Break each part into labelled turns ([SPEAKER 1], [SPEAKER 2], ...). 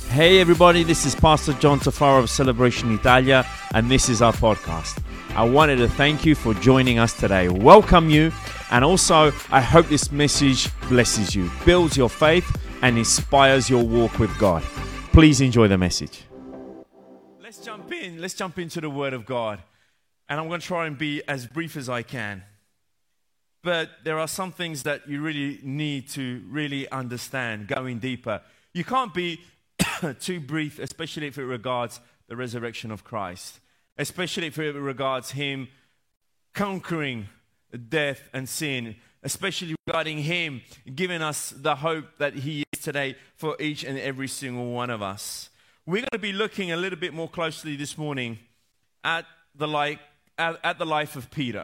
[SPEAKER 1] Hey everybody, this is Pastor John Tafaro of Celebration Italia, and this is our podcast. I wanted to thank you for joining us today, welcome you, and also I hope this message blesses you, builds your faith, and inspires your walk with God. Please enjoy the message. Let's jump into the Word of God, and I'm going to try and be as brief as I can. But there are some things that you really need to really understand, going deeper. You can't be too brief, especially if it regards the resurrection of Christ, especially if it regards Him conquering death and sin, especially regarding Him giving us the hope that He is today for each and every single one of us. We're going to be looking a little bit more closely this morning at the life of Peter.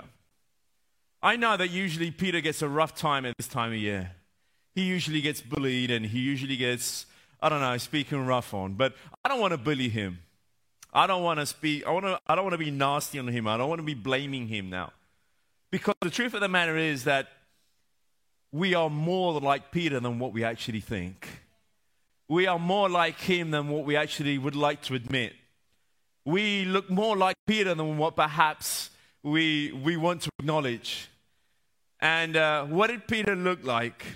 [SPEAKER 1] I know that usually Peter gets a rough time at this time of year. He usually gets bullied and he usually gets, speaking rough on. But I don't want to bully him. I don't want to be nasty on him. I don't want to be blaming him now. Because the truth of the matter is that we are more like Peter than what we actually think. We are more like him than what we actually would like to admit. We look more like Peter than what perhaps we want to acknowledge. And what did Peter look like?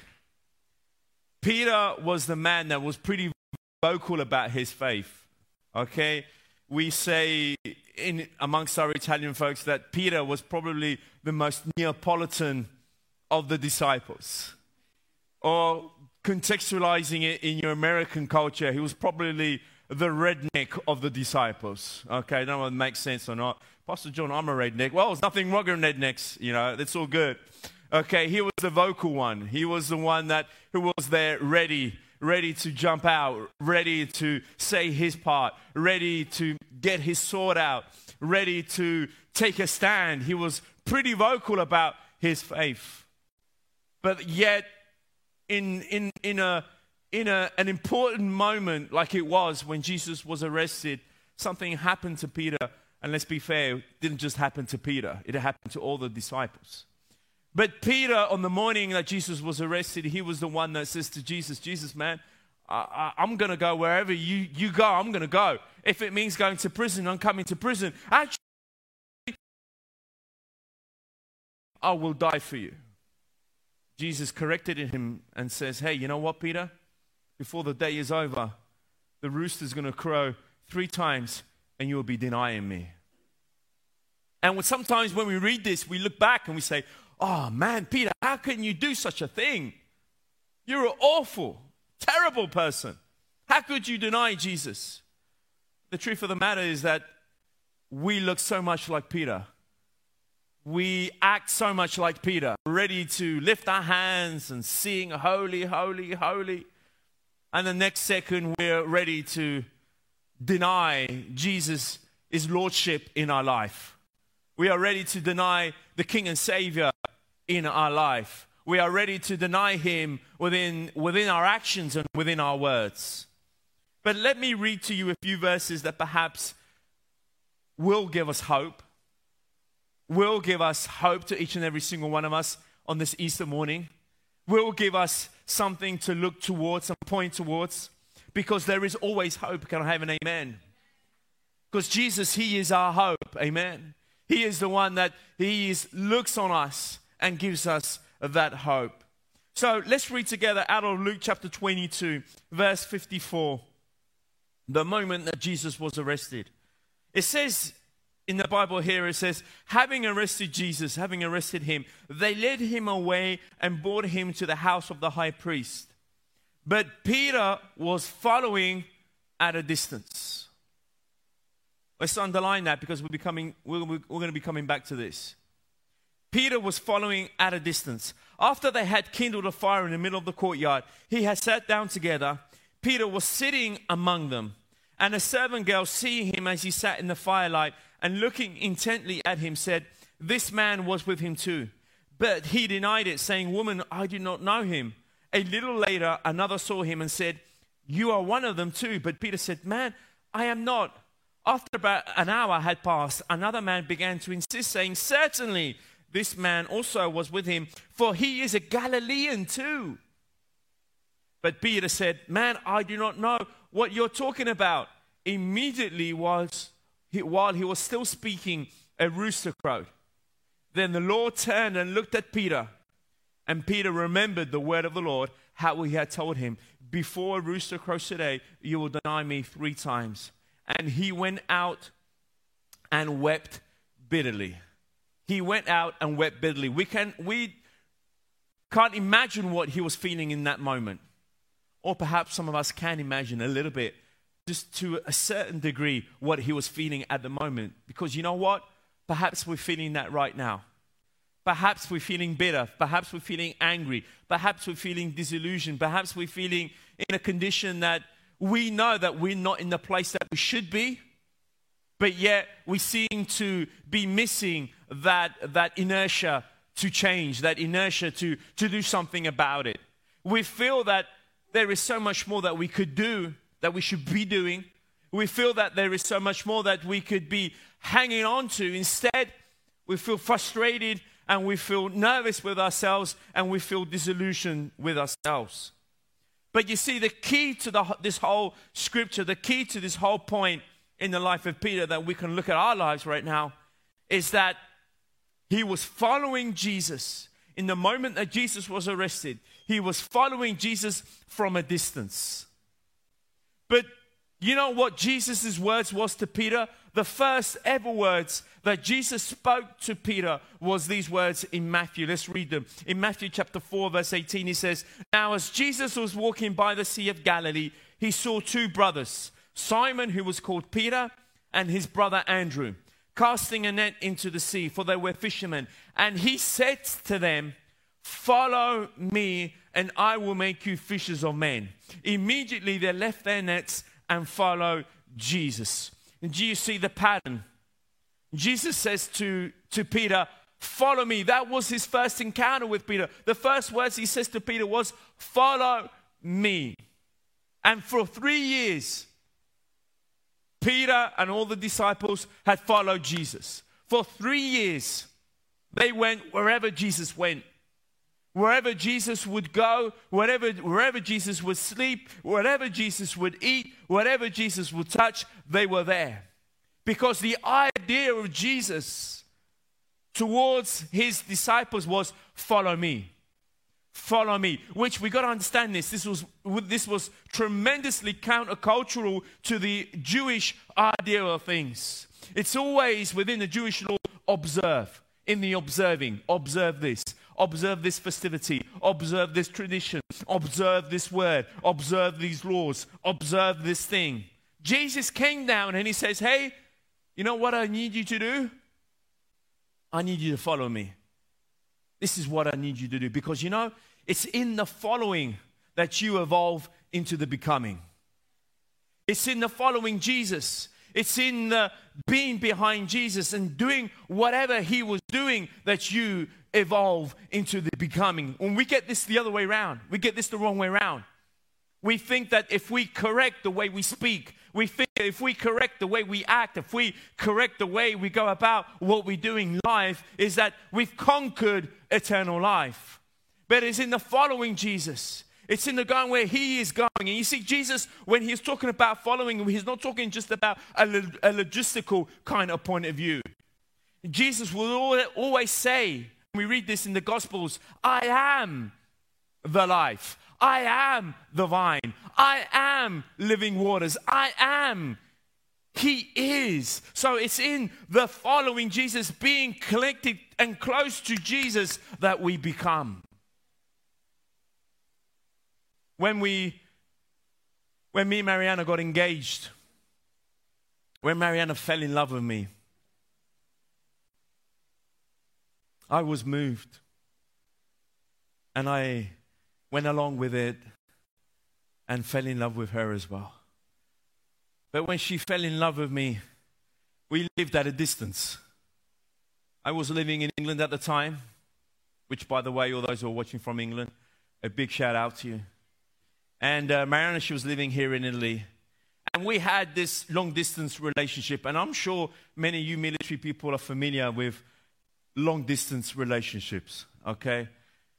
[SPEAKER 1] Peter was the man that was pretty vocal about his faith. Okay? We say amongst our Italian folks that Peter was probably the most Neapolitan of the disciples. Or contextualizing it in your American culture, he was probably the redneck of the disciples. Okay, I don't know if it makes sense or not. Pastor John, I'm a redneck. Well, there's nothing wrong with rednecks, it's all good. Okay, he was the vocal one. He was the one who was there ready to jump out, ready to say his part, ready to get his sword out, ready to take a stand. He was pretty vocal about his faith. But yet, in an important moment like it was when Jesus was arrested, something happened to Peter. And let's be fair, it didn't just happen to Peter. It happened to all the disciples. But Peter, on the morning that Jesus was arrested, he was the one that says to Jesus, Jesus, man, I'm going to go wherever you go, I'm going to go. If it means going to prison, I'm coming to prison. Actually, I will die for you. Jesus corrected him and says, hey, you know what, Peter? Before the day is over, the rooster's going to crow 3 times and you will be denying me. And sometimes when we read this, we look back and we say, oh man, Peter, how can you do such a thing? You're an awful, terrible person. How could you deny Jesus? The truth of the matter is that we look so much like Peter. We act so much like Peter, ready to lift our hands and sing, holy, holy, holy. And the next second, we're ready to deny Jesus' lordship in our life. We are ready to deny the King and Savior in our life. We are ready to deny Him within our actions and within our words. But let me read to you a few verses that perhaps will give us hope. Will give us hope to each and every single one of us on this Easter morning. Will give us something to look towards and point towards. Because there is always hope. Can I have an amen? Because Jesus, He is our hope. Amen. He is the one that looks on us and gives us that hope. So let's read together out of Luke chapter 22, verse 54. The moment that Jesus was arrested. It says in the Bible here, it says, having arrested Jesus, having arrested Him, they led Him away and brought Him to the house of the high priest. But Peter was following at a distance. Let's underline that because we're going to be coming back to this. Peter was following at a distance. After they had kindled a fire in the middle of the courtyard, he had sat down together. Peter was sitting among them. And a servant girl, seeing him as he sat in the firelight and looking intently at him, said, this man was with him too. But he denied it, saying, woman, I do not know him. A little later, another saw him and said, you are one of them too. But Peter said, man, I am not. After about an hour had passed, another man began to insist, saying, certainly this man also was with him, for he is a Galilean too. But Peter said, man, I do not know what you're talking about. Immediately while he was still speaking, a rooster crowed. Then the Lord turned and looked at Peter. And Peter remembered the word of the Lord, how he had told him, before a rooster crows today, you will deny me 3 times. And he went out and wept bitterly. He went out and wept bitterly. We can't imagine what he was feeling in that moment. Or perhaps some of us can imagine a little bit, just to a certain degree, what he was feeling at the moment. Because you know what? Perhaps we're feeling that right now. Perhaps we're feeling bitter. Perhaps we're feeling angry. Perhaps we're feeling disillusioned. Perhaps we're feeling in a condition that we know that we're not in the place that we should be. But yet we seem to be missing that inertia to change, that inertia to do something about it. We feel that there is so much more that we could do, that we should be doing. We feel that there is so much more that we could be hanging on to. Instead, we feel frustrated and we feel nervous with ourselves and we feel disillusioned with ourselves. But you see, the key to this whole scripture, the key to this whole point in the life of Peter that we can look at our lives right now is that he was following Jesus. In the moment that Jesus was arrested, he was following Jesus from a distance. But you know what Jesus' words was to Peter? The first ever words that Jesus spoke to Peter was these words in Matthew. Let's read them. In Matthew chapter 4, verse 18, he says, now as Jesus was walking by the Sea of Galilee, he saw 2 brothers, Simon, who was called Peter, and his brother Andrew, casting a net into the sea, for they were fishermen. And he said to them, follow me, and I will make you fishers of men. Immediately they left their nets and followed Jesus. And do you see the pattern? Jesus says to Peter, follow me. That was his first encounter with Peter. The first words he says to Peter was, follow me. And for 3 years, Peter and all the disciples had followed Jesus. For 3 years, they went wherever Jesus went. Wherever Jesus would go, wherever Jesus would sleep, wherever Jesus would eat, wherever Jesus would touch, they were there. Because the idea of Jesus towards his disciples was, follow me. Follow me. Which we got to understand this. This was tremendously countercultural to the Jewish idea of things. It's always within the Jewish law, observe. In the observing, observe this. Observe this festivity, observe this tradition, observe this word, observe these laws, observe this thing. Jesus came down and he says, hey, you know what I need you to do? I need you to follow me. This is what I need you to do. Because you know, it's in the following that you evolve into the becoming. It's in the following Jesus. It's in the being behind Jesus and doing whatever he was doing that you evolve into the becoming. When we get this the other way around, we get this the wrong way around. We think that if we correct the way we speak, we think that if we correct the way we act, if we correct the way we go about what we do in life, is that we've conquered eternal life. But it's in the following Jesus. It's in the going where he is going. And you see, Jesus, when he's talking about following, he's not talking just about a logistical kind of point of view. Jesus will always say, we read this in the Gospels, I am the life. I am the vine. I am living waters. I am. He is. So it's in the following Jesus, being connected and close to Jesus, that we become. When me and Mariana got engaged, when Mariana fell in love with me, I was moved. And I went along with it and fell in love with her as well. But when she fell in love with me, we lived at a distance. I was living in England at the time, which, by the way, all those who are watching from England, a big shout out to you. And Mariana, she was living here in Italy. And we had this long-distance relationship. And I'm sure many of you military people are familiar with long-distance relationships, okay?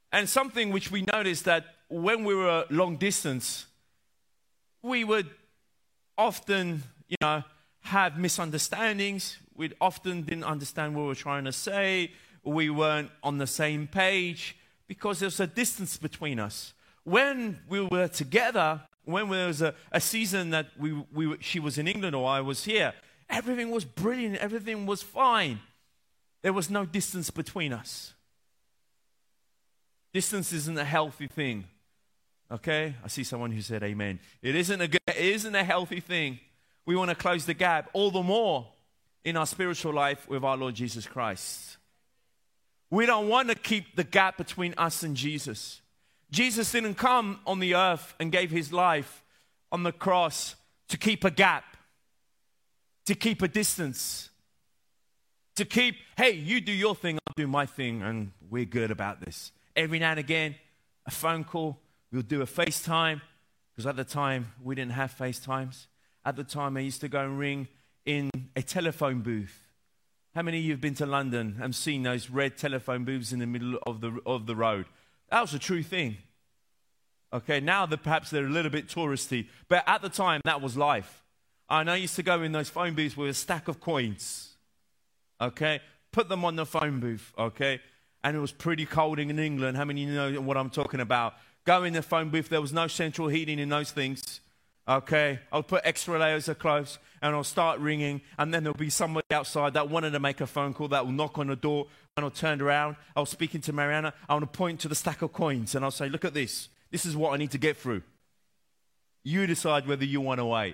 [SPEAKER 1] And something which we noticed that when we were long distance, we would often, have misunderstandings. We often didn't understand what we were trying to say. We weren't on the same page because there's a distance between us. When we were together, when there was a season that she was in England or I was here, everything was brilliant. Everything was fine. There was no distance between us. Distance isn't a healthy thing. Okay? I see someone who said amen. It isn't a healthy thing. We want to close the gap all the more in our spiritual life with our Lord Jesus Christ. We don't want to keep the gap between us and Jesus. Jesus didn't come on the earth and gave his life on the cross to keep a gap, to keep a distance, to keep, hey, you do your thing, I'll do my thing, and we're good about this. Every now and again, a phone call, we'll do a FaceTime, because at the time, we didn't have FaceTimes. At the time, I used to go and ring in a telephone booth. How many of you have been to London and seen those red telephone booths in the middle of the road? That was a true thing. Okay, now perhaps they're a little bit touristy, but at the time, that was life. And I used to go in those phone booths with a stack of coins. Okay, put them on the phone booth. Okay, and it was pretty cold in England. How many of you know what I'm talking about? Go in the phone booth. There was no central heating in those things. Okay, I'll put extra layers of clothes and I'll start ringing, and then there'll be somebody outside that wanted to make a phone call that will knock on the door, and I'll turn around. I was speaking to Mariana. I want to point to the stack of coins and I'll say, look at this. This is what I need to get through. You decide whether you want to wait.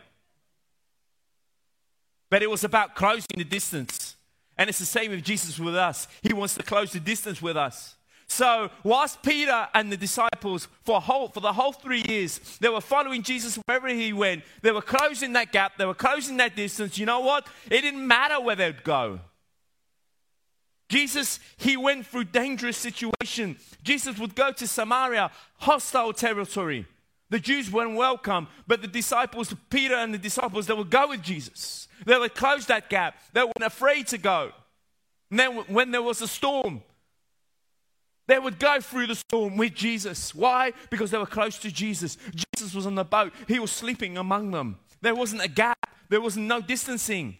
[SPEAKER 1] But it was about closing the distance. And it's the same with Jesus with us. He wants to close the distance with us. So whilst Peter and the disciples for the whole 3 years, they were following Jesus wherever he went. They were closing that gap. They were closing that distance. You know what? It didn't matter where they'd go. Jesus, he went through dangerous situations. Jesus would go to Samaria, hostile territory. The Jews weren't welcome, but the disciples, Peter and the disciples, they would go with Jesus. They would close that gap. They weren't afraid to go. And then when there was a storm, they would go through the storm with Jesus. Why? Because they were close to Jesus. Jesus was on the boat. He was sleeping among them. There wasn't a gap. There was no distancing.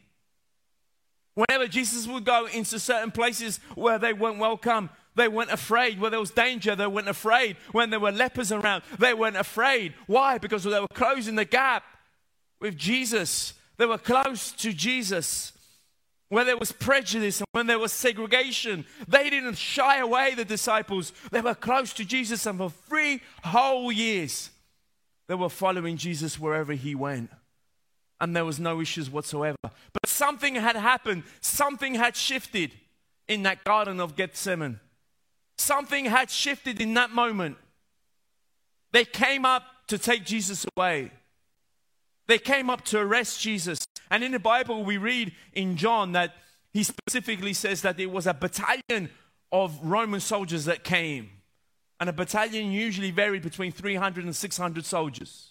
[SPEAKER 1] Whenever Jesus would go into certain places where they weren't welcome, they weren't afraid. Where there was danger, they weren't afraid. When there were lepers around, they weren't afraid. Why? Because they were closing the gap with Jesus. They were close to Jesus. Where there was prejudice and when there was segregation, they didn't shy away, the disciples. They were close to Jesus, and for 3 whole years, they were following Jesus wherever he went. And there was no issues whatsoever. But something had happened. Something had shifted in that Garden of Gethsemane. Something had shifted in that moment. They came up to take Jesus away. They came up to arrest Jesus. And in the Bible, we read in John that he specifically says that it was a battalion of Roman soldiers that came. And a battalion usually varied between 300 and 600 soldiers.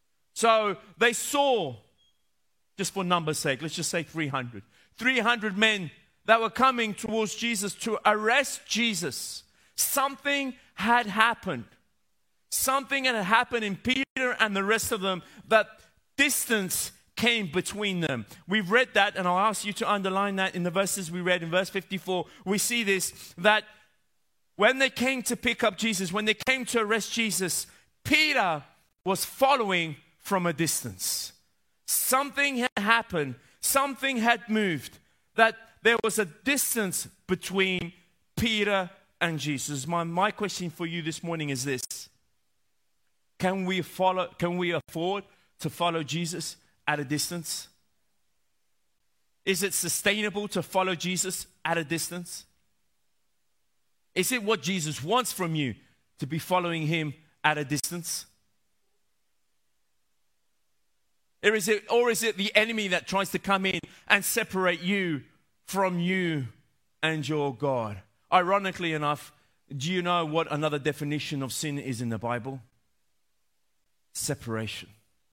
[SPEAKER 1] So they saw, just for numbers' sake, let's just say 300. 300 men that were coming towards Jesus to arrest Jesus. Something had happened. Something had happened in Peter and the rest of them, that distance came between them. We've read that, and I'll ask you to underline that in the verses we read. In verse 54, we see this, that when they came to pick up Jesus, when they came to arrest Jesus, Peter was following from a distance. Something had happened. Something had moved. That there was a distance between Peter and Jesus. My question for you this morning is this. Can we afford to follow Jesus at a distance? Is it sustainable to follow Jesus at a distance? Is it what Jesus wants from you to be following him at a distance? Or is it the enemy that tries to come in and separate you from you and your God? Ironically enough, do you know what another definition of sin is in the Bible? Separation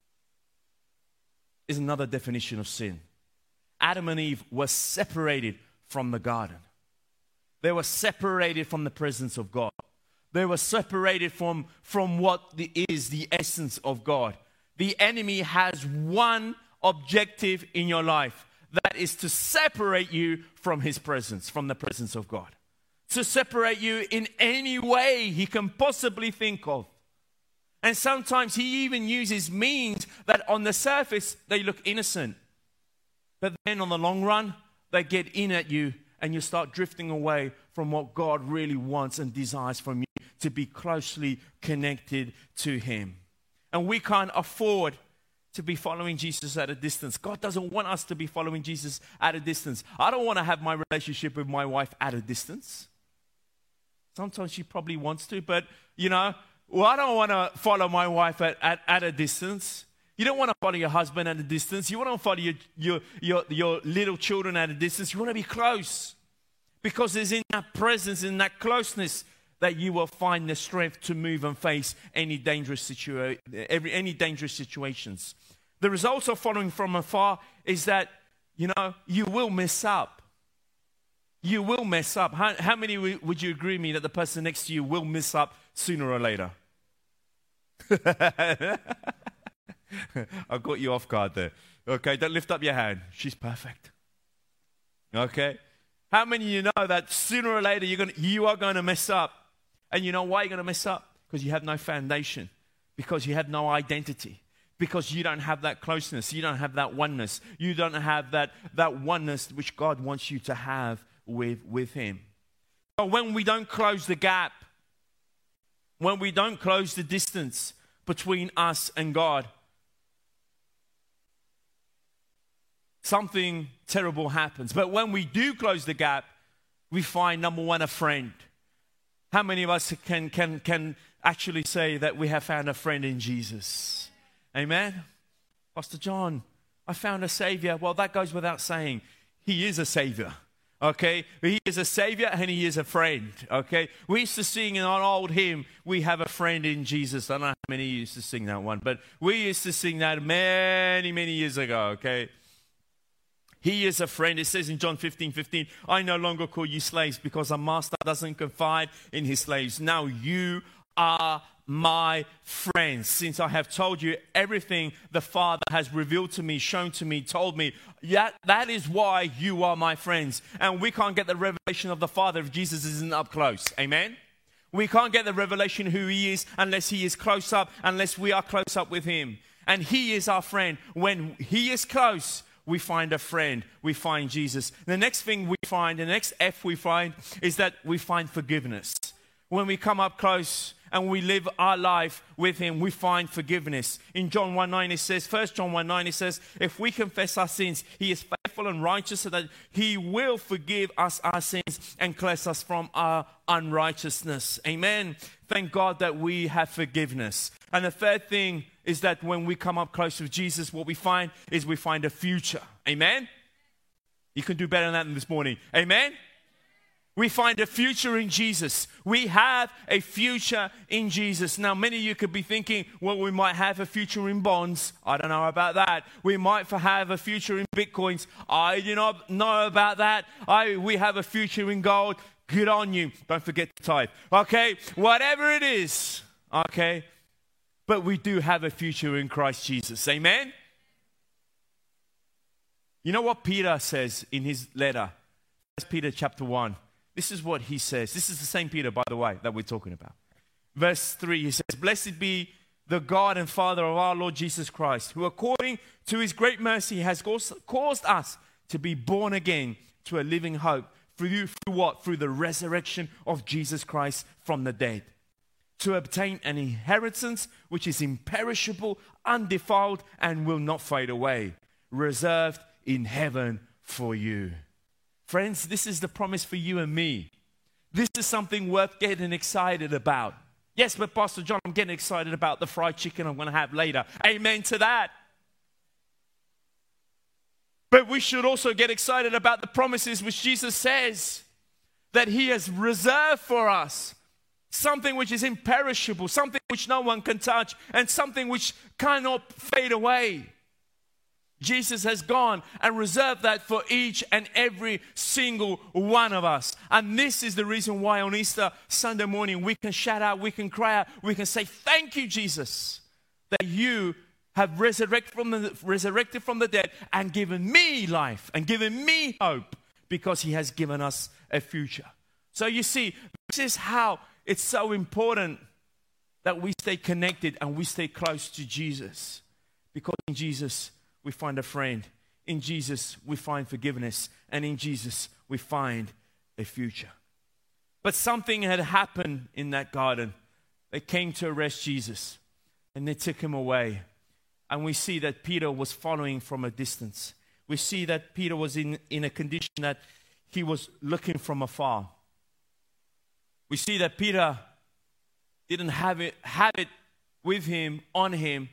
[SPEAKER 1] is another definition of sin. Adam and Eve were separated from the garden. They were separated from the presence of God. They were separated from what is the essence of God. The enemy has one objective in your life. That is to separate you from his presence, from the presence of God. To separate you in any way he can possibly think of. And sometimes he even uses means that on the surface they look innocent. But then on the long run, they get in at you and you start drifting away from what God really wants and desires from you, to be closely connected to him. And we can't afford to be following Jesus at a distance. God doesn't want us to be following Jesus at a distance. I don't want to have my relationship with my wife at a distance. Sometimes she probably wants to, but I don't want to follow my wife at a distance. You don't want to follow your husband at a distance. You want to follow your little children at a distance. You want to be close. Because it's in that presence, in that closeness, that you will find the strength to move and face any dangerous situations. The results of following from afar is that, you will mess up. You will mess up. How many would you agree with me that the person next to you will mess up sooner or later? I got you off guard there. Okay, don't lift up your hand. She's perfect. Okay? How many of you know that sooner or later you are going to mess up? And you know why you're going to mess up? Because you have no foundation. Because you have no identity. Because you don't have that closeness. You don't have that oneness. You don't have that oneness which God wants you to have with him. So when we don't close the gap, when we don't close the distance between us and God, something terrible happens. But when we do close the gap, we find, number one, a friend. How many of us can actually say that we have found a friend in Jesus? Amen? Pastor John, I found a Savior. Well, that goes without saying. He is a Savior. Okay? He is a Savior and he is a friend. Okay? We used to sing in an old hymn, we have a friend in Jesus. I don't know how many used to sing that one, but we used to sing that many, many years ago. Okay? He is a friend. It says in John 15:15, I no longer call you slaves because a master doesn't confide in his slaves. Now you are my friends, since I have told you everything the Father has revealed to me, shown to me, told me. That is why you are my friends. And we can't get the revelation of the Father if Jesus isn't up close. Amen? We can't get the revelation who he is unless he is close up, unless we are close up with him. And he is our friend. When he is close, we find a friend. We find Jesus. The next thing we find, the next F we find, is that we find forgiveness. When we come up close and we live our life with him, we find forgiveness. In John 1:9 it says, 1 John 1:9 it says, if we confess our sins, he is faithful and righteous so that he will forgive us our sins and cleanse us from our unrighteousness. Amen. Thank God that we have forgiveness. And the third thing is that when we come up close with Jesus, what we find is we find a future. Amen? You can do better than that this morning. Amen? We find a future in Jesus. We have a future in Jesus. Now, many of you could be thinking, well, we might have a future in bonds. I don't know about that. We might have a future in bitcoins. I do not know about that. We have a future in gold. Good on you. Don't forget to tithe. Okay? Whatever it is. Okay? But we do have a future in Christ Jesus. Amen? You know what Peter says in his letter? 1 Peter chapter 1. This is what he says. This is the same Peter, by the way, that we're talking about. Verse 3, he says, blessed be the God and Father of our Lord Jesus Christ, who according to his great mercy has caused us to be born again to a living hope. Through what? Through the resurrection of Jesus Christ from the dead. To obtain an inheritance which is imperishable, undefiled, and will not fade away, reserved in heaven for you. Friends, this is the promise for you and me. This is something worth getting excited about. Yes, but Pastor John, I'm getting excited about the fried chicken I'm going to have later. Amen to that. But we should also get excited about the promises which Jesus says that he has reserved for us. Something which is imperishable, something which no one can touch, and something which cannot fade away. Jesus has gone and reserved that for each and every single one of us. And this is the reason why on Easter Sunday morning we can shout out, we can cry out, we can say, thank you, Jesus, that you have resurrected from the dead and given me life and given me hope, because he has given us a future. So you see, this is how it's so important that we stay connected and we stay close to Jesus. Because in Jesus, we find a friend. In Jesus, we find forgiveness. And in Jesus, we find a future. But something had happened in that garden. They came to arrest Jesus, and they took him away. And we see that Peter was following from a distance. We see that Peter was in a condition that he was looking from afar. We see that Peter didn't have it with him, on him,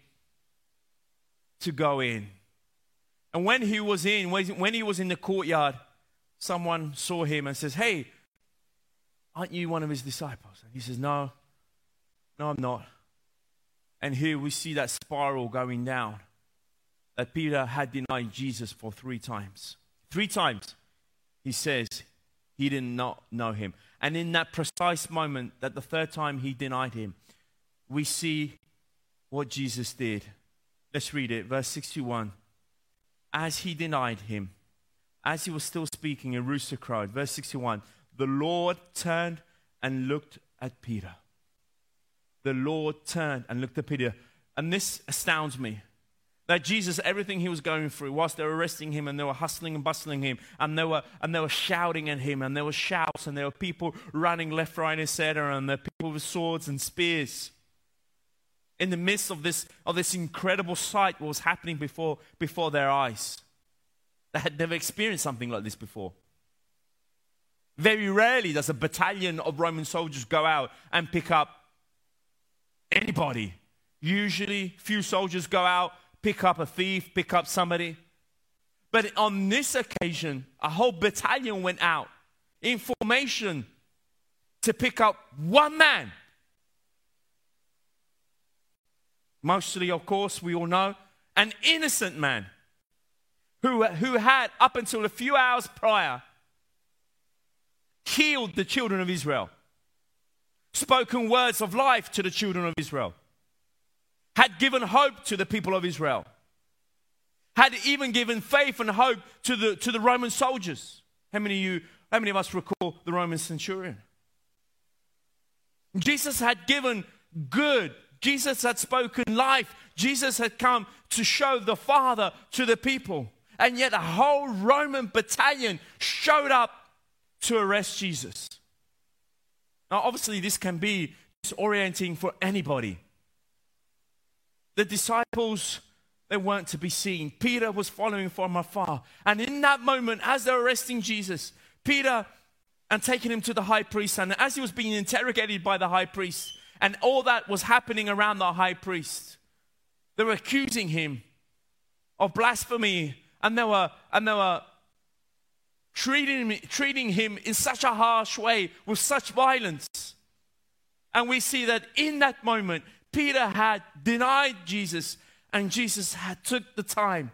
[SPEAKER 1] to go in. And when he was in the courtyard, someone saw him and says, hey, aren't you one of his disciples? And he says, no, I'm not. And here we see that spiral going down, that Peter had denied Jesus for 3 times. 3 times, he says he did not know him. And in that precise moment, that the 3rd time he denied him, we see what Jesus did. Let's read it, verse 61. As he denied him, as he was still speaking, a rooster crowed. Verse 61, the Lord turned and looked at Peter. The Lord turned and looked at Peter. And this astounds me. That Jesus, everything he was going through, whilst they were arresting him and they were hustling and bustling him, and they were shouting at him, and there were shouts, and there were people running left, right, etc., and there were people with swords and spears. In the midst of this incredible sight, what was happening before their eyes. They had never experienced something like this before. Very rarely does a battalion of Roman soldiers go out and pick up anybody. Usually, few soldiers go out, pick up a thief, pick up somebody. But on this occasion, a whole battalion went out in formation to pick up one man. Mostly, of course, we all know, an innocent man who had, up until a few hours prior, healed the children of Israel, spoken words of life to the children of Israel, had given hope to the people of Israel, had even given faith and hope to the Roman soldiers. How many of us recall the Roman centurion? Jesus had given good. Jesus had spoken life. Jesus had come to show the Father to the people. And yet a whole Roman battalion showed up to arrest Jesus. Now, obviously, this can be disorienting for anybody. The disciples, they weren't to be seen. Peter was following from afar. And in that moment, as they're arresting Jesus, Peter, and taking him to the high priest, and as he was being interrogated by the high priest, and all that was happening around the high priest, they were accusing him of blasphemy, and they were treating him in such a harsh way, with such violence. And we see that in that moment, Peter had denied Jesus, and Jesus had took the time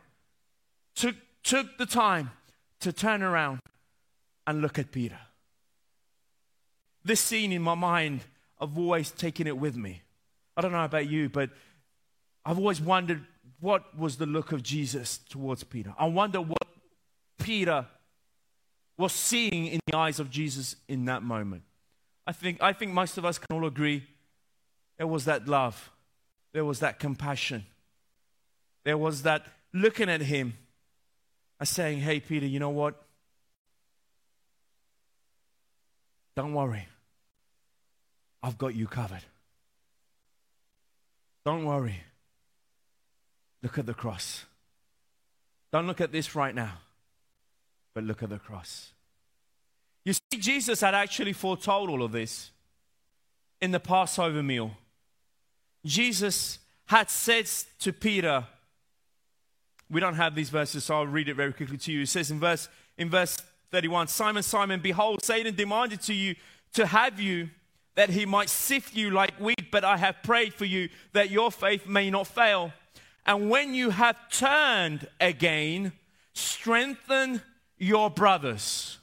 [SPEAKER 1] to turn around and look at Peter. This scene in my mind, I've always taken it with me. I don't know about you, but I've always wondered what was the look of Jesus towards Peter. I wonder what Peter was seeing in the eyes of Jesus in that moment. I think most of us can all agree there was that love. There was that compassion. There was that looking at him and saying, hey, Peter, you know what? Don't worry. I've got you covered. Don't worry. Look at the cross. Don't look at this right now, but look at the cross. You see, Jesus had actually foretold all of this in the Passover meal. Jesus had said to Peter, we don't have these verses, so I'll read it very quickly to you. It says in verse 31, Simon, Simon, behold, Satan demanded to have you, that he might sift you like wheat, but I have prayed for you that your faith may not fail. And when you have turned again, strengthen your brothers.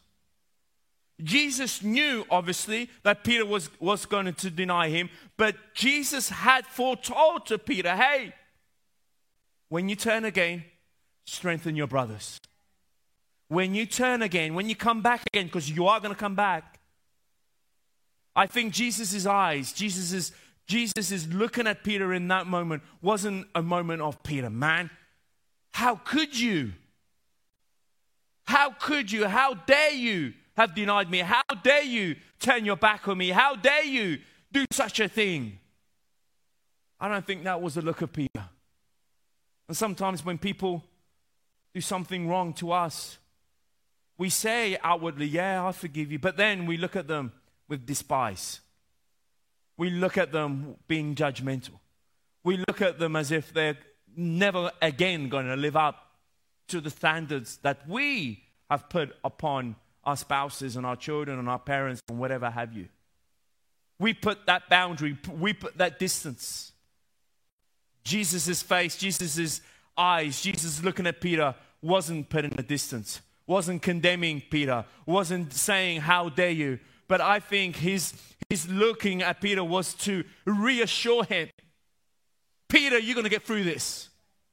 [SPEAKER 1] Jesus knew, obviously, that Peter was going to deny him. But Jesus had foretold to Peter, hey, when you turn again, strengthen your brothers. When you turn again, when you come back again, because you are going to come back. I think Jesus' eyes, Jesus is looking at Peter in that moment, wasn't a moment of, Peter, man, how could you? How could you? How dare you have denied me? How dare you turn your back on me? How dare you do such a thing? I don't think that was the look of Peter. And sometimes when people do something wrong to us, we say outwardly, yeah, I forgive you. But then we look at them with despise. We look at them being judgmental. We look at them as if they're never again going to live up to the standards that we have put upon our spouses and our children and our parents and whatever have you. We put that boundary, we put that distance. Jesus' face, Jesus' eyes, Jesus looking at Peter wasn't putting a distance, wasn't condemning Peter, wasn't saying, how dare you? But I think his looking at Peter was to reassure him. Peter, you're going to get through this.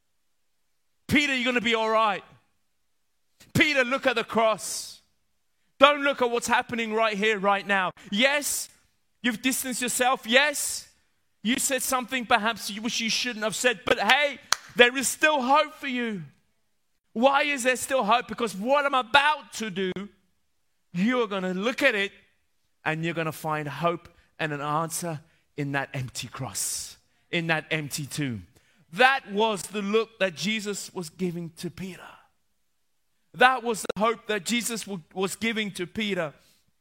[SPEAKER 1] Peter, you're going to be all right. Peter, look at the cross. Don't look at what's happening right here, right now. Yes, you've distanced yourself. Yes, you said something perhaps which you shouldn't have said. But hey, there is still hope for you. Why is there still hope? Because what I'm about to do, you are going to look at it and you're going to find hope and an answer in that empty cross, in that empty tomb. That was the look that Jesus was giving to Peter. That was the hope that Jesus was giving to Peter.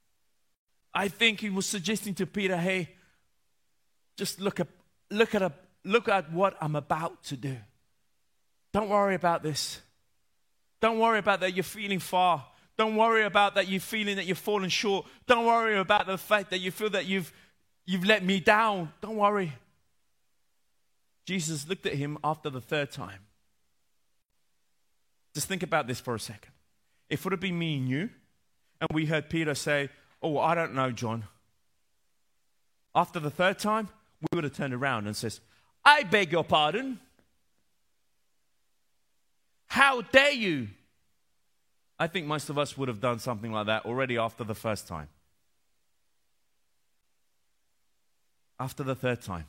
[SPEAKER 1] I think he was suggesting to Peter, hey, just look at what I'm about to do. Don't worry about this. Don't worry about that you're feeling far. Don't worry about that you're feeling that you've fallen short. Don't worry about the fact that you feel that you've let me down. Don't worry. Jesus looked at him after the third time. Just think about this for a second. If it would have been me and you, and we heard Peter say, oh, I don't know, John. After the third time, we would have turned around and says, I beg your pardon. How dare you? I think most of us would have done something like that already after the first time. After the third time,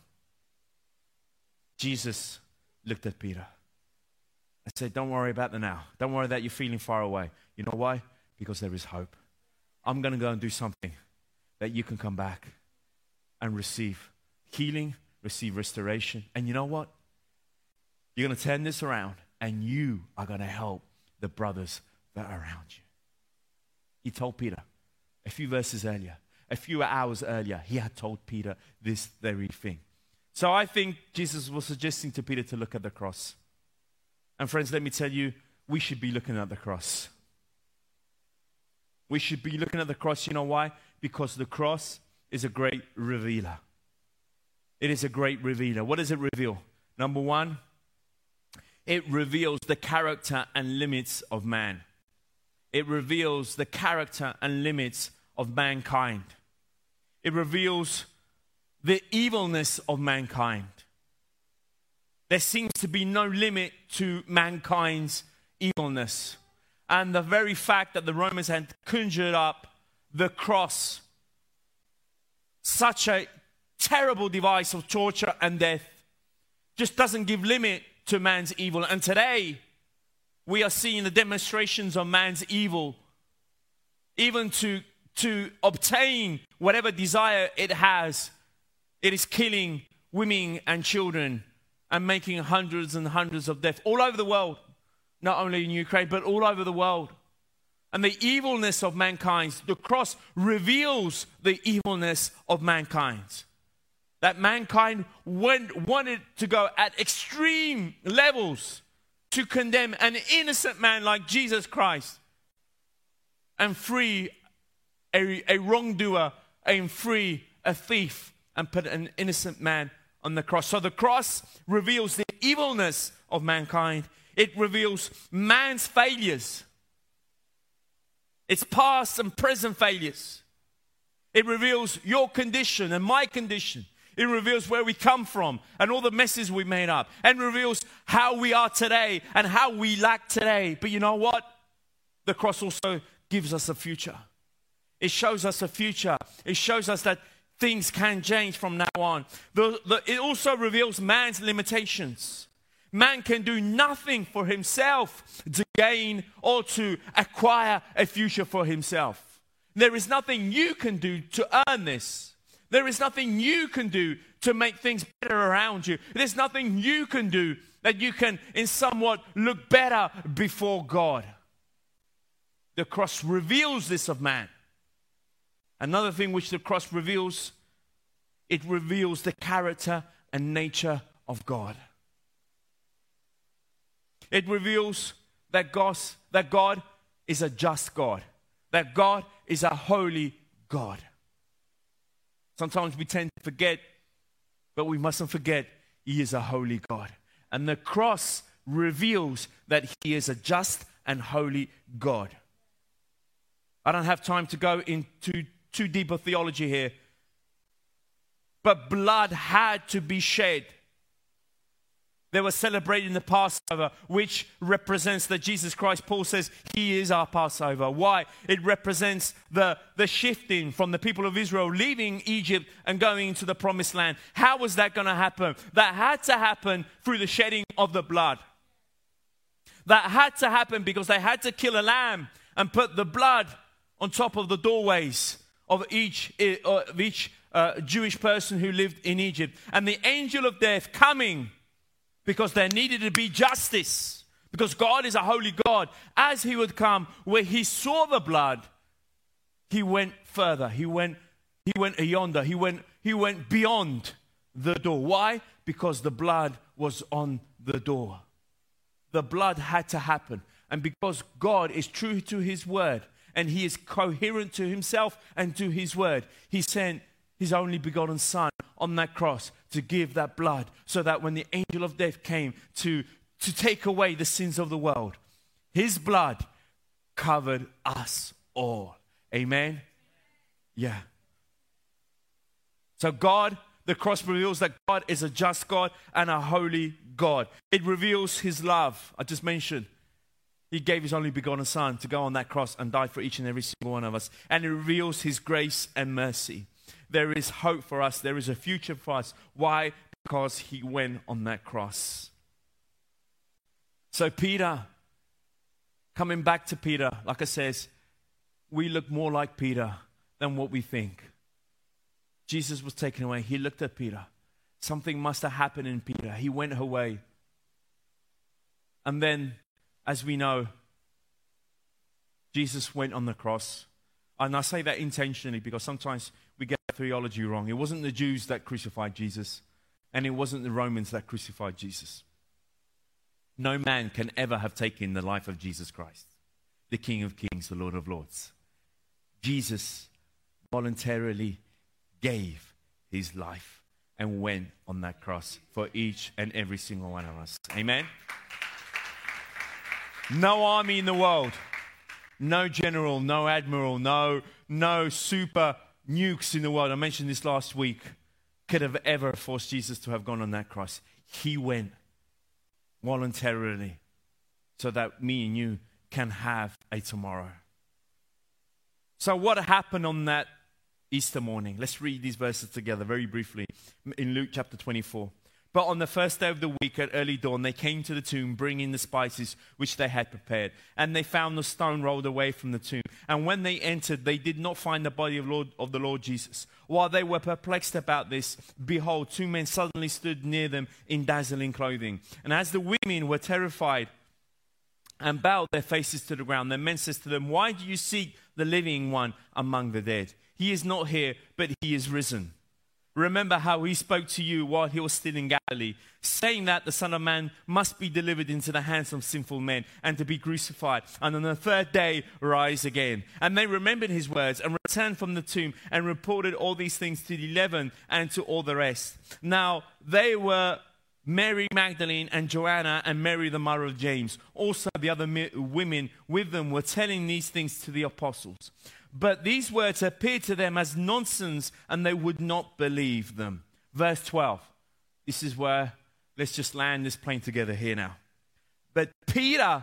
[SPEAKER 1] Jesus looked at Peter and said, don't worry about the now. Don't worry that you're feeling far away. You know why? Because there is hope. I'm going to go and do something that you can come back and receive healing, receive restoration. And you know what? You're going to turn this around and you are going to help the brothers that are around you. He told Peter a few verses earlier, a few hours earlier, he had told Peter this very thing. So I think Jesus was suggesting to Peter to look at the cross. And friends, let me tell you, we should be looking at the cross. We should be looking at the cross. You know why? Because the cross is a great revealer. It is a great revealer. What does it reveal? Number one, it reveals the character and limits of man. It reveals the character and limits of mankind. It reveals the evilness of mankind. There seems to be no limit to mankind's evilness. And the very fact that the Romans had conjured up the cross, such a terrible device of torture and death, just doesn't give limit to man's evil. And today, we are seeing the demonstrations of man's evil, even to obtain whatever desire it has. It is killing women and children and making hundreds and hundreds of deaths all over the world, not only in Ukraine, but all over the world. And the evilness of mankind, the cross reveals the evilness of mankind. That mankind wanted to go at extreme levels to condemn an innocent man like Jesus Christ and free a wrongdoer and free a thief and put an innocent man
[SPEAKER 2] on the cross. So the cross reveals the evilness of mankind. It reveals man's failures. Its past and present failures. It reveals your condition and my condition. It reveals where we come from and all the messes we made up. And reveals how we are today and how we lack today. But you know what? The cross also gives us a future. It shows us a future. It shows us that things can change from now on. It also reveals man's limitations. Man can do nothing for himself to gain or to acquire a future for himself. There is nothing you can do to earn this. There is nothing you can do to make things better around you. There's nothing you can do that you can in somewhat look better before God. The cross reveals this of man. Another thing which the cross reveals, it reveals the character and nature of God. It reveals that God is a just God. That God is a holy God. Sometimes we tend to forget, but we mustn't forget He is a holy God. And the cross reveals that He is a just and holy God. I don't have time to go into too deep a theology here. But blood had to be shed. They were celebrating the Passover, which represents that Jesus Christ, Paul says, He is our Passover. Why? It represents the shifting from the people of Israel leaving Egypt and going into the promised land. How was that going to happen? That had to happen through the shedding of the blood. That had to happen because they had to kill a lamb and put the blood on top of the doorways of each Jewish person who lived in Egypt. And the angel of death coming, because there needed to be justice, because God is a holy God. As He would come, where He saw the blood, He went further. He went yonder. He went beyond the door. Why? Because the blood was on the door. The blood had to happen. And because God is true to His word, and He is coherent to Himself and to His word, He sent His only begotten Son on that cross to give that blood, so that when the angel of death came to take away the sins of the world, His blood covered us all. Amen? Yeah. So God, the cross reveals that God is a just God and a holy God. It reveals His love. I just mentioned He gave His only begotten Son to go on that cross and die for each and every single one of us. And it reveals His grace and mercy. There is hope for us. There is a future for us. Why? Because He went on that cross. So Peter, coming back to Peter, like I says, we look more like Peter than what we think. Jesus was taken away. He looked at Peter. Something must have happened in Peter. He went away. And then, as we know, Jesus went on the cross. And I say that intentionally because sometimes we get theology wrong. It wasn't the Jews that crucified Jesus, and it wasn't the Romans that crucified Jesus. No man can ever have taken the life of Jesus Christ, the King of Kings, the Lord of Lords. Jesus voluntarily gave His life and went on that cross for each and every single one of us. Amen? No army in the world, no general, no admiral, no super nukes in the world, I mentioned this last week, could have ever forced Jesus to have gone on that cross. He went voluntarily so that me and you can have a tomorrow. So what happened on that Easter morning? Let's read these verses together very briefly in Luke chapter 24. But on the first day of the week at early dawn, they came to the tomb, bringing the spices which they had prepared. And they found the stone rolled away from the tomb. And when they entered, they did not find the body of the Lord Jesus. While they were perplexed about this, behold, two men suddenly stood near them in dazzling clothing. And as the women were terrified and bowed their faces to the ground, the men said to them, "Why do you seek the living one among the dead? He is not here, but He is risen. Remember how he spoke to you while he was still in Galilee, saying that the Son of Man must be delivered into the hands of sinful men and to be crucified, and on the third day rise again. And they remembered his words and returned from the tomb and reported all these things to the 11 and to all the rest. Now they were Mary Magdalene and Joanna and Mary the mother of James. Also the other women with them were telling these things to the apostles. But these words appeared to them as nonsense, and they would not believe them. Verse 12. This is where, let's just land this plane together here now. But Peter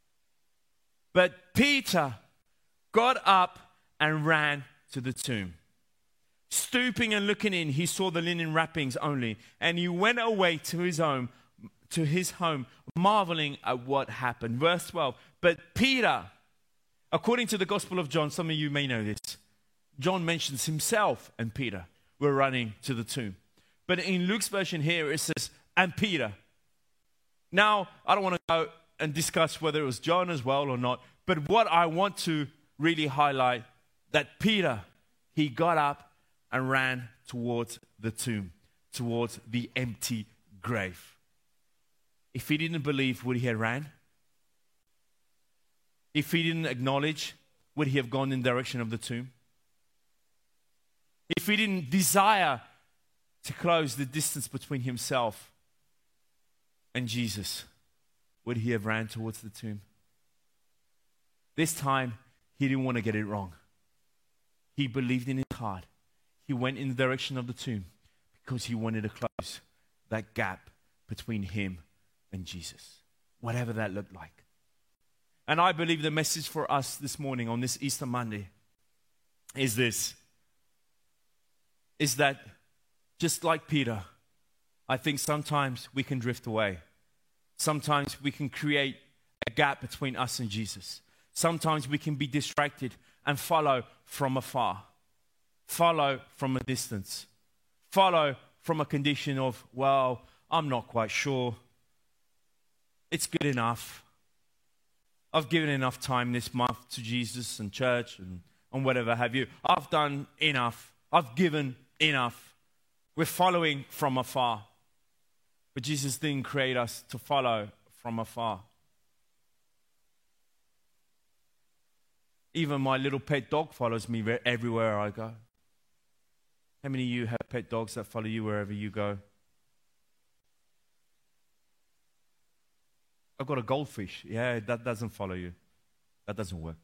[SPEAKER 2] got up and ran to the tomb. Stooping and looking in, he saw the linen wrappings only, and he went away to his home, marveling at what happened. Verse 12. But Peter, according to the Gospel of John, some of you may know this, John mentions himself and Peter were running to the tomb. But in Luke's version here, it says, and Peter. Now, I don't want to go and discuss whether it was John as well or not, but what I want to really highlight, that Peter, he got up and ran towards the tomb, towards the empty grave. If he didn't believe, would he have ran? If he didn't acknowledge, would he have gone in the direction of the tomb? If he didn't desire to close the distance between himself and Jesus, would he have ran towards the tomb? This time, he didn't want to get it wrong. He believed in his heart. He went in the direction of the tomb because he wanted to close that gap between him and Jesus, whatever that looked like. And I believe the message for us this morning on this Easter Monday is this, is that just like Peter, I think sometimes we can drift away. Sometimes we can create a gap between us and Jesus. Sometimes we can be distracted and follow from afar, follow from a distance, follow from a condition of, well, I'm not quite sure. It's good enough. I've given enough time this month to Jesus and church and whatever have you. I've done enough. I've given enough. We're following from afar. But Jesus didn't create us to follow from afar. Even my little pet dog follows me everywhere I go. How many of you have pet dogs that follow you wherever you go? I've got a goldfish. Yeah, that doesn't follow you. That doesn't work.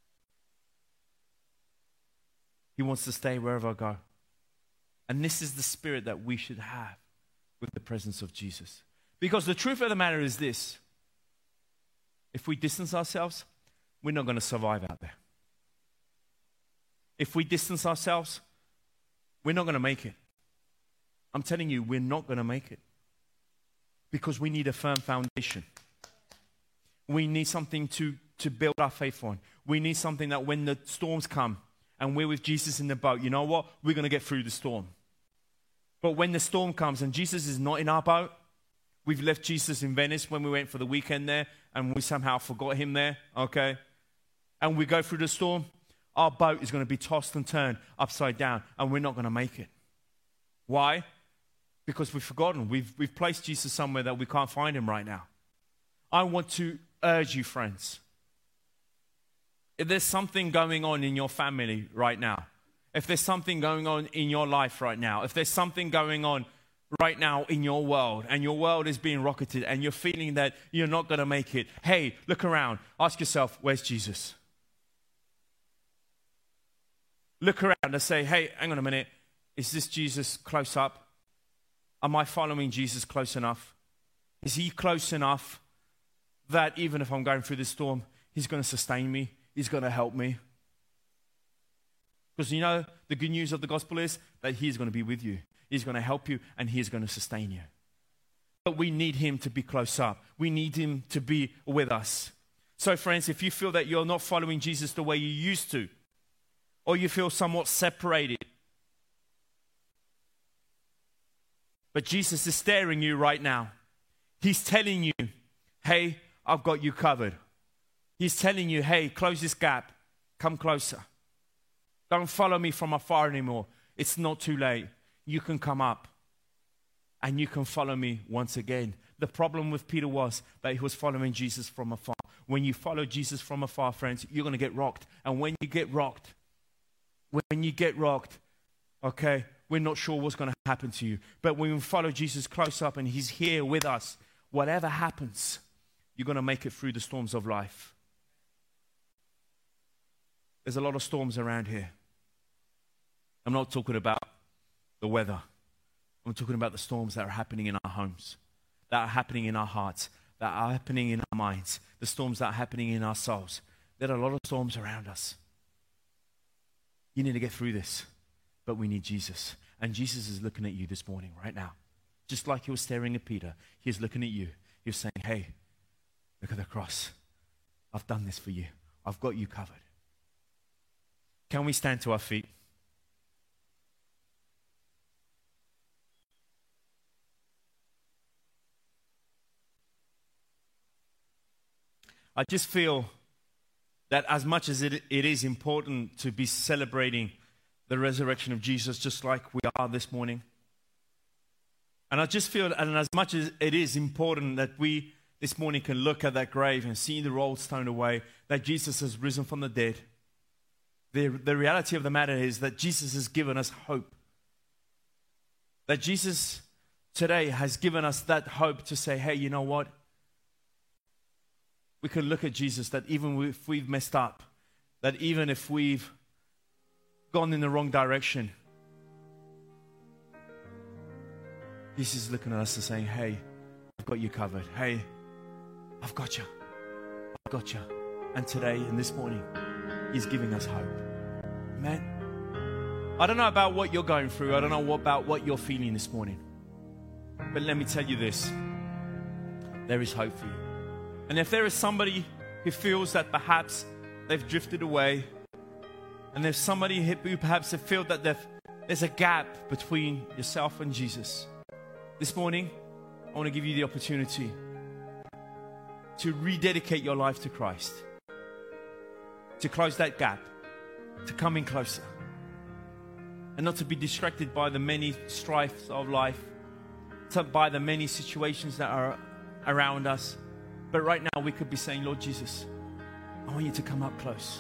[SPEAKER 2] He wants to stay wherever I go. And this is the spirit that we should have with the presence of Jesus. Because the truth of the matter is this. If we distance ourselves, we're not going to survive out there. If we distance ourselves, we're not going to make it. I'm telling you, we're not going to make it. Because we need a firm foundation. We need something to build our faith on. We need something that when the storms come and we're with Jesus in the boat, you know what? We're going to get through the storm. But when the storm comes and Jesus is not in our boat, we've left Jesus in Venice when we went for the weekend there and we somehow forgot him there, okay? And we go through the storm, our boat is going to be tossed and turned upside down and we're not going to make it. Why? Because we've forgotten. We've placed Jesus somewhere that we can't find him right now. I want to urge you, friends, if there's something going on in your family right now, if there's something going on in your life right now, if there's something going on right now in your world and your world is being rocketed and you're feeling that you're not going to make it, hey, look around. Ask yourself, where's Jesus? Look around and say, hey, hang on a minute. Is this Jesus close up? Am I following Jesus close enough? Is he close enough that even if I'm going through this storm, he's going to sustain me? He's going to help me? Because you know, the good news of the gospel is that he's going to be with you. He's going to help you and he's going to sustain you. But we need him to be close up. We need him to be with us. So friends, if you feel that you're not following Jesus the way you used to, or you feel somewhat separated, but Jesus is staring you right now. He's telling you, hey, I've got you covered. He's telling you, hey, close this gap. Come closer. Don't follow me from afar anymore. It's not too late. you can come up and you can follow me once again. The problem with Peter was that he was following Jesus from afar. When you follow Jesus from afar, friends, you're going to get rocked. And when you get rocked, okay, we're not sure what's going to happen to you. But when we follow Jesus close up and he's here with us, whatever happens, you're going to make it through the storms of life. There's a lot of storms around here. I'm not talking about the weather. I'm talking about the storms that are happening in our homes, that are happening in our hearts, that are happening in our minds, the storms that are happening in our souls. There are a lot of storms around us. You need to get through this, but we need Jesus. And Jesus is looking at you this morning, right now. Just like he was staring at Peter, he's looking at you. He's saying, hey, look at the cross. I've done this for you. I've got you covered. Can we stand to our feet? I just feel that as much as it is important to be celebrating the resurrection of Jesus, just like we are this morning, and I just feel, and as much as it is important that we this morning can look at that grave and see the rolled stone away, that Jesus has risen from the dead, the reality of the matter is that Jesus has given us hope. That Jesus today has given us that hope to say, hey, you know what? We can look at Jesus, that even if we've messed up, that even if we've gone in the wrong direction, Jesus is looking at us and saying, hey, I've got you covered. Hey, I've got you. I've got you. And today and this morning, he's giving us hope. Amen. I don't know about what you're going through. I don't know about what you're feeling this morning. But let me tell you this. There is hope for you. And if there is somebody who feels that perhaps they've drifted away, and there's somebody who perhaps have felt that there's a gap between yourself and Jesus, this morning, I want to give you the opportunity to rededicate your life to Christ, to close that gap, to come in closer, and not to be distracted by the many strifes of life, by the many situations that are around us. But right now we could be saying, Lord Jesus, I want you to come up close.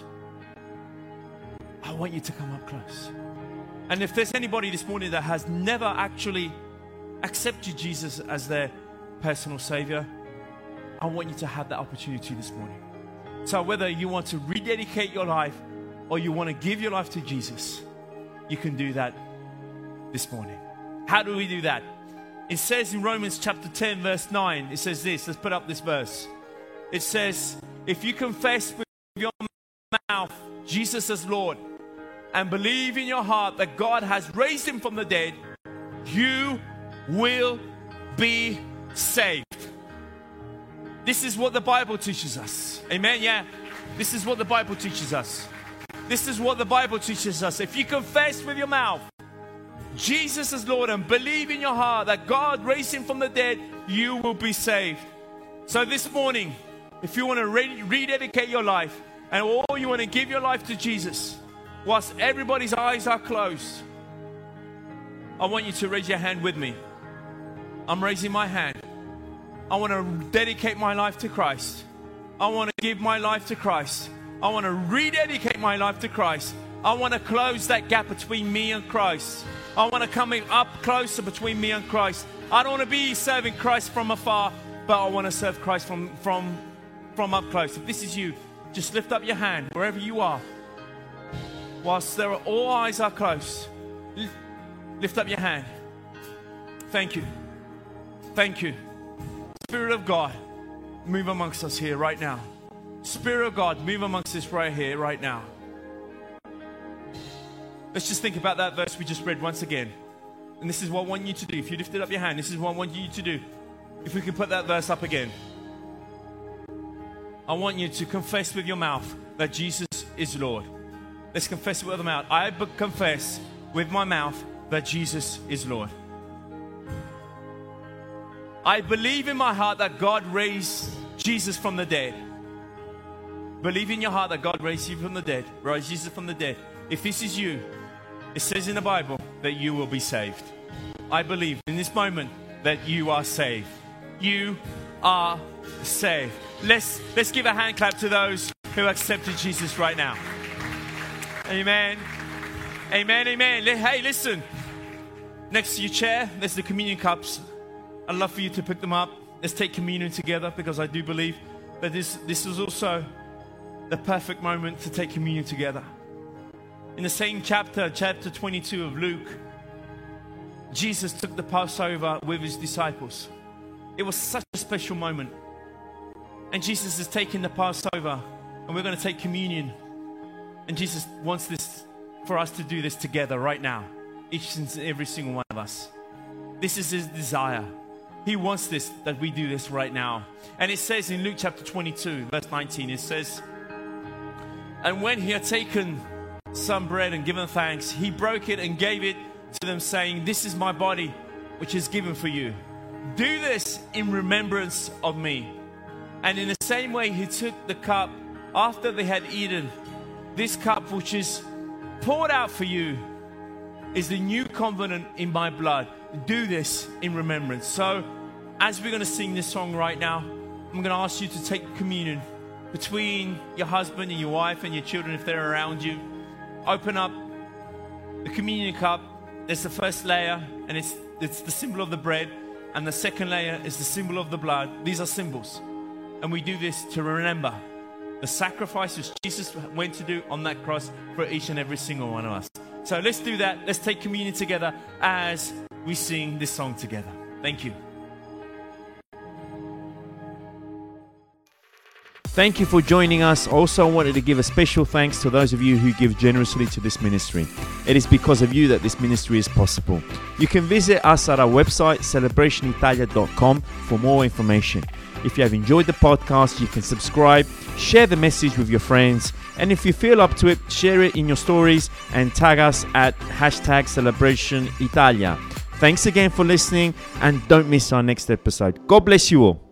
[SPEAKER 2] I want you to come up close. And if there's anybody this morning that has never actually accepted Jesus as their personal Savior, I want you to have that opportunity this morning. So whether you want to rededicate your life or you want to give your life to Jesus, you can do that this morning. How do we do that? It says in Romans chapter 10 verse 9, it says this. Let's put up this verse. It says, if you confess with your mouth Jesus as Lord and believe in your heart that God has raised him from the dead, you will be saved. This is what the Bible teaches us. Amen? Yeah. This is what the Bible teaches us. This is what the Bible teaches us. If you confess with your mouth Jesus is Lord and believe in your heart that God raised him from the dead, you will be saved. So this morning, if you want to rededicate your life and all you want to give your life to Jesus, whilst everybody's eyes are closed, I want you to raise your hand with me. I'm raising my hand. I want to dedicate my life to Christ. I want to give my life to Christ. I want to rededicate my life to Christ. I want to close that gap between me and Christ. I want to come up closer between me and Christ. I don't want to be serving Christ from afar, but I want to serve Christ from up close. If this is you, just lift up your hand wherever you are. Whilst all eyes are closed, lift up your hand. Thank you. Thank you. Spirit of God, move amongst us here right now. Spirit of God, move amongst us right here, right now. Let's just think about that verse we just read once again. And this is what I want you to do. If you lifted up your hand, this is what I want you to do. If we can put that verse up again. I want you to confess with your mouth that Jesus is Lord. Let's confess it with our mouth. I confess with my mouth that Jesus is Lord. I believe in my heart that God raised Jesus from the dead. Believe in your heart that God raised you from the dead, raised Jesus from the dead. If this is you, it says in the Bible that you will be saved. I believe in this moment that you are saved. You are saved. Let's give a hand clap to those who accepted Jesus right now. Amen. Amen, amen. Hey, listen. Next to your chair, there's the communion cups. I'd love for you to pick them up. Let's take communion together, because I do believe that this is also the perfect moment to take communion together. In the same chapter 22 of Luke, Jesus took the Passover with his disciples. It was such a special moment. And Jesus is taking the Passover, and we're going to take communion. And Jesus wants this for us to do this together right now, each and every single one of us. This is his desire. He wants this, that we do this right now. And it says in Luke chapter 22, verse 19, it says, "And when he had taken some bread and given thanks, he broke it and gave it to them, saying, 'This is my body, which is given for you. Do this in remembrance of me.' And in the same way, he took the cup after they had eaten. 'This cup which is poured out for you is the new covenant in my blood. Do this in remembrance.'" So, as we're going to sing this song right now, I'm going to ask you to take communion between your husband and your wife and your children if they're around you. Open up the communion cup. There's the first layer, and it's the symbol of the bread. And the second layer is the symbol of the blood. These are symbols. And we do this to remember the sacrifices Jesus went to do on that cross for each and every single one of us. So let's do that. Let's take communion together as we sing this song together. Thank you.
[SPEAKER 1] Thank you for joining us. Also, I wanted to give a special thanks to those of you who give generously to this ministry. It is because of you that this ministry is possible. You can visit us at our website, celebrationitalia.com, for more information. If you have enjoyed the podcast, you can subscribe, share the message with your friends, and if you feel up to it, share it in your stories and tag us at #CelebrationItalia. Thanks again for listening, and don't miss our next episode. God bless you all.